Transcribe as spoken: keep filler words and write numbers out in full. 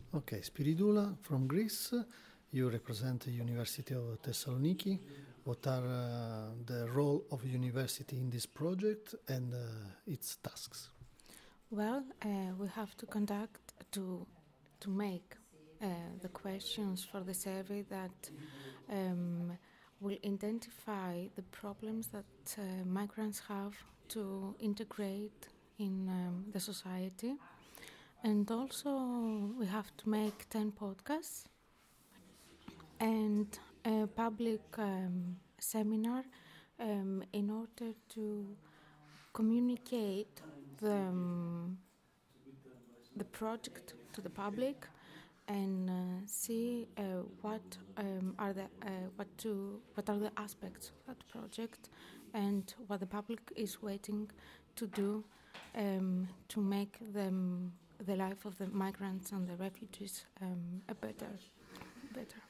Okay, Spiridula from Greece. You represent the University of Thessaloniki. What are uh, the role of university in this project and uh, its tasks? Well, uh, we have to conduct to to make uh, the questions for the survey that um, will identify the problems that uh, migrants have to integrate in um, the society. And also, we have to make ten podcasts and a public um, seminar um, in order to communicate the, um, the project to the public and uh, see uh, what um, are the uh, what to what are the aspects of that project and what the public is waiting to do um, to make them the life of the migrants and the refugees um, a better better.